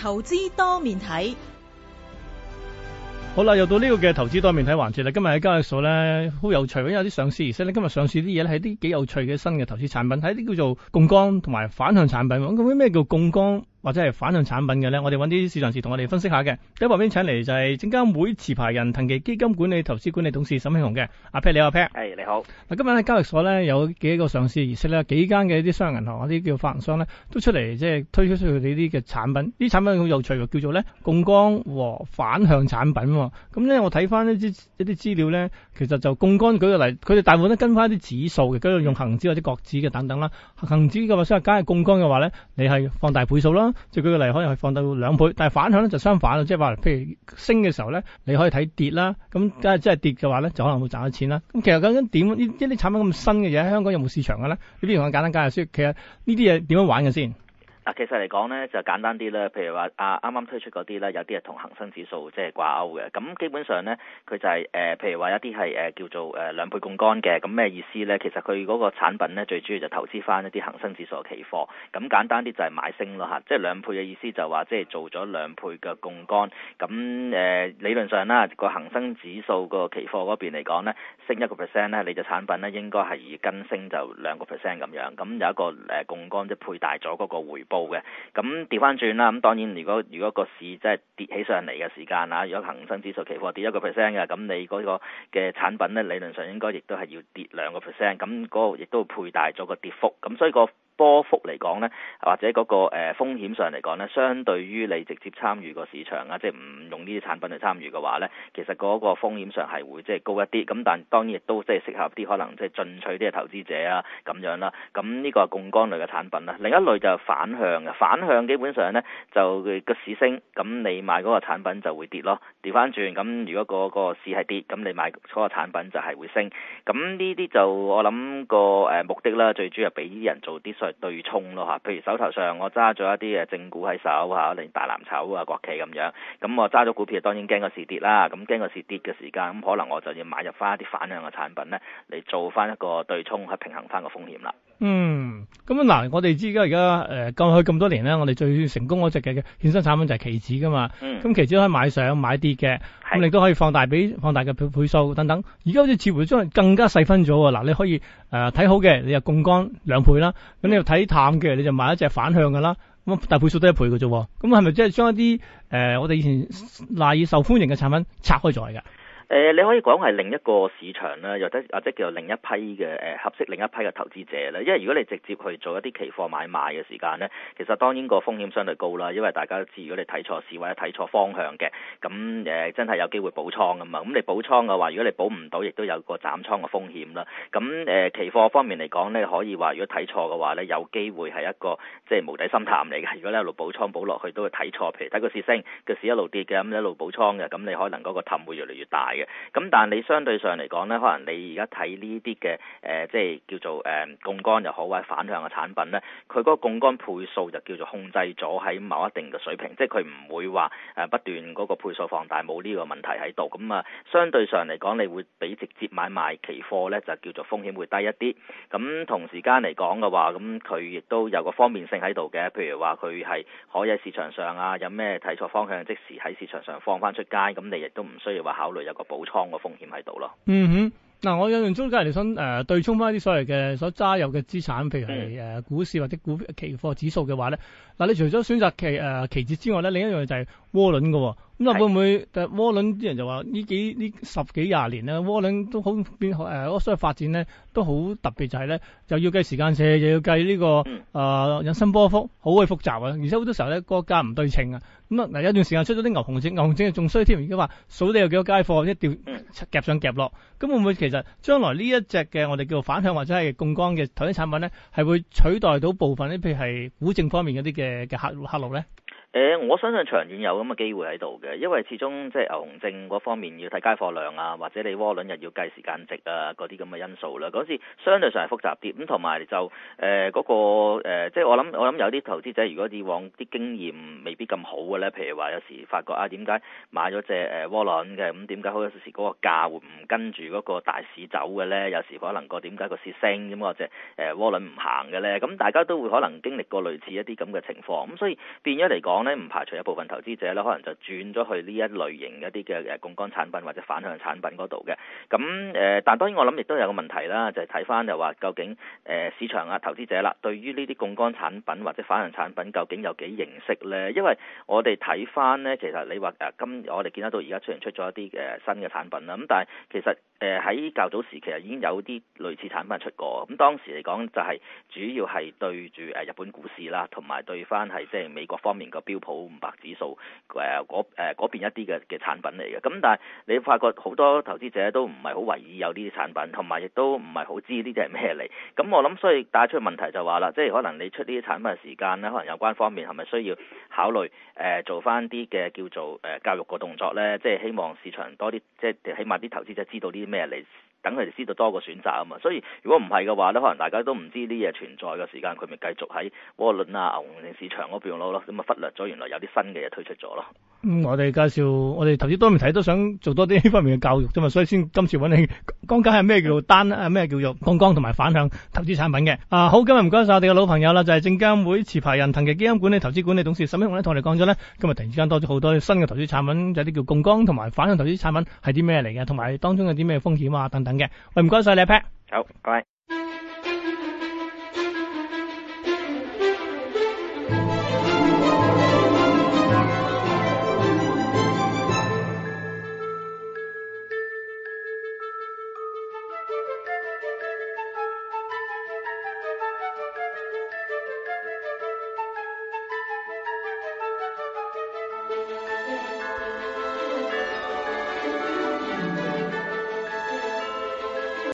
投資多面睇。 好啦，又到呢個嘅投資多面睇環節啦。今日喺交易所咧，好有趣，因為有啲上市儀式咧，今日上市啲嘢咧係啲幾有趣嘅新嘅投資產品，係一啲叫做槓桿同埋反向產品。咁究竟咩叫槓桿或者係反向產品嘅咧？我哋揾啲市場人士同我哋分析下嘅。喺旁邊請嚟就係證監會持牌人騰祺基金管理投資管理董事沈慶洪嘅。阿 Pat， 你好，阿 Pat。 係，你好。 嗱，今日喺交易所咧有幾個上市儀式咧，幾間嘅啲商業銀行、啲叫發行商咧都出嚟即係推出佢哋啲嘅產品。啲產品好有趣喎，叫做咧槓桿和反向產品。咁咧我睇翻一啲資料咧，其實就槓桿舉個例，佢哋大部分都跟翻啲指數嘅，跟住用恒指或者國指嘅等等啦。恒指嘅話，所以假如槓桿嘅話咧，你係放大倍數啦，即係舉個例，可能係放到2倍。但係反向咧就相反啦，即係話譬如升嘅時候咧，你可以睇跌啦。咁即係跌嘅話咧，就可能會賺到錢啦。咁其實究竟點呢啲產品咁新嘅嘢喺香港有冇市場嘅咧？你不如我簡單介紹先。其實呢啲嘢點樣玩嘅先？ 嗱，其實嚟講咧就簡單啲啦，譬如話啱啱推出嗰啲咧，有啲係同恒生指數即係掛鈎嘅。咁基本上咧，佢就係譬如話一啲係叫做2倍槓桿嘅。咁咩意思咧？其實佢嗰個產品咧最主要就投資翻一啲恒生指數嘅期貨。咁簡單啲就係買升咯嚇，即係2倍嘅意思就話即係做咗2倍嘅槓桿。咁理論上啦，個恒生指數個期貨嗰邊嚟講咧，升1%咧，你隻產品咧應該係跟升就2% 咁樣。咁有一個槓桿即係配大咗嗰個回報嘅。咁調翻轉啦，咁當然如果個市即係跌起上嚟嘅時間啊，如果恒生指數期貨跌1% 嘅，咁你嗰個嘅產品咧理論上應該亦都係要跌2%，咁嗰個亦都會配大咗個跌幅，咁所以個波幅嚟講咧，或者嗰個風險上嚟講咧，相對於你直接參與個市場啊，即係唔用呢啲產品去參與嘅話咧，其實嗰個風險上係會即係高一啲。咁但當然亦都即係適合啲可能即係進取啲嘅投資者啊咁樣啦。咁呢個係槓桿類嘅產品啦。另一類就係反向嘅，反向基本上咧就個市升，咁你買嗰個產品就會跌咯。調翻轉，咁如果個市係跌，咁你買嗰個產品就係會升。咁呢啲就我諗個目的啦，最主要係俾啲人做啲對沖咯嚇，譬如手頭上我揸咗一啲嘅正股喺手嚇，例如大藍籌啊、國企咁樣，咁我揸咗股票當然驚個市跌啦，咁驚個市跌嘅時間，咁可能我就要買入翻一啲反向嘅產品咧，嚟做翻一個對沖去平衡翻個風險啦。 咁嗱，我哋知而家過去咁多年咧，我哋最成功嗰隻嘅衍生產品就係期指噶嘛。咁期指可以買上買跌嘅，咁你都可以放大嘅倍數等等。而家好似似乎將更加細分咗喎。嗱，你可以睇好嘅，你就槓桿2倍啦。咁你又睇淡嘅，你就買一隻反向嘅啦。咁大倍數都1倍嘅啫。咁係咪即係將一啲我哋以前賴以受歡迎嘅產品拆開咗嚟㗎？ 你可以講係另一個市場啦，或者叫做另一批嘅合適另一批嘅投資者啦。因為如果你直接去做一啲期貨買賣嘅時間呢，其實當然個風險相對高啦。因為大家都知，如果你睇錯市或者睇錯方向嘅，咁真係有機會補倉㗎嘛。咁你補倉嘅話，如果你補唔到，亦都有個斬倉嘅風險啦。咁期貨方面嚟講呢，可以話如果睇錯嘅話呢，有機會係一個即係無底深潭嚟嘅。如果你一路補倉補落去都會睇錯，譬如睇個市升，個市一路跌嘅，咁一路補倉嘅，咁你可能嗰個氹會越嚟越大。咁但係你相對上嚟講咧，可能你而家睇呢啲嘅即係叫做槓桿又好或者反向嘅產品咧，佢嗰個槓桿倍數就叫做控制咗喺某一定嘅水平，即係佢唔會話不斷嗰個倍數放大，冇呢個問題喺度。咁啊，相對上嚟講，你會比直接買賣期貨咧就叫做風險會低一啲。咁同時間嚟講嘅話，咁佢亦都有個方便性喺度嘅，譬如話佢係可以喺市場上啊，有咩睇錯方向，即時喺市場上放翻出街，咁你亦都唔需要話考慮有個補倉個風險喺度咯。 嗱，我印象中，假如你想對沖翻啲所謂嘅所揸有嘅資產，譬如係股市或者期貨指數嘅話咧，嗱，你除咗選擇期指之外咧，另一樣就係窩輪嘅。咁會唔會窩輪啲人就話呢10幾20年咧，窩輪都好變所謂發展咧都好特別，就係咧又要計時間線，又要計呢個引伸波幅，好鬼複雜啊！而且好多時候咧個價唔對稱啊。咁嗱，有段時間出咗啲牛熊證仲衰添，而家話數你有幾多街貨，一掉夾上夾落。咁會唔會其實將來呢一隻嘅我哋叫做反向或者係槓桿嘅投資產品咧，係會取代到部分啲譬如係股證方面嗰啲嘅客路咧？ 我相信長遠有咁嘅機會喺度嘅，因為始終即係牛熊證嗰方面要睇街貨量啊，或者你窩輪又要計時間值啊，嗰啲咁嘅因素啦。嗰時相對上係複雜啲，咁同埋就嗰個即係我諗有啲投資者如果以往啲經驗未必咁好嘅咧，譬如話有時發覺點解買咗隻窩輪嘅，咁點解好有時嗰個價會唔跟住嗰個大市走嘅咧？有時可能點解個市升咁，或者窩輪唔行嘅咧？咁大家都會可能經歷過類似一啲咁嘅情況，咁所以變咗嚟講講咧，唔排除一部分投資者咧，可能就轉咗去呢一類型一啲嘅槓桿產品或者反向產品嗰度嘅。咁但當然我諗亦都有個問題啦，就係睇翻就話究竟市場投資者啦，對於呢啲槓桿產品或者反向產品究竟有幾認識咧？因為我哋睇翻咧，其實你話我哋見得到而家雖然出咗一啲新嘅產品啦，咁但係其實喺較早時其實已經有啲類似產品出過。咁當時嚟講就係主要係對住日本股市啦，同埋對翻係即係美國方面個標普500指數嗰邊一啲嘅產品嚟嘅。咁但係你發覺好多投資者都唔係好為意有呢啲產品，同埋亦都唔係好知呢啲係咩嚟。咁我諗所以帶出問題就話啦，即係可能你出呢啲產品嘅時間咧，可能有關方面係咪需要考慮做翻啲嘅叫做教育個動作咧？即係希望市場多啲，即係起碼啲投資者知道啲咩嚟，等佢哋知道多個選擇啊嘛。所以如果唔係嘅話咧，可能大家都唔知呢嘢存在嘅時間，佢咪繼續喺窩輪啊、牛熊市場嗰邊咯，咁啊忽略咗原來有啲新嘅嘢推出咗咯。 我哋介紹我哋投資多媒體都想做多啲呢方面嘅教育啫嘛，所以先今次揾你講解係咩叫做咩叫做槓桿同埋反向投資產品嘅。好，今日唔該晒我哋嘅老朋友啦，就係證監會持牌人騰祺基金管理投資管理董事沈慶洪咧，同我哋講咗咧，今日突然之間多咗好多新嘅投資產品，有啲叫槓桿同埋反向投資產品係啲咩嚟嘅，同埋當中有啲咩風險啊等等嘅。喂，唔該晒你 Pat。 好，拜拜。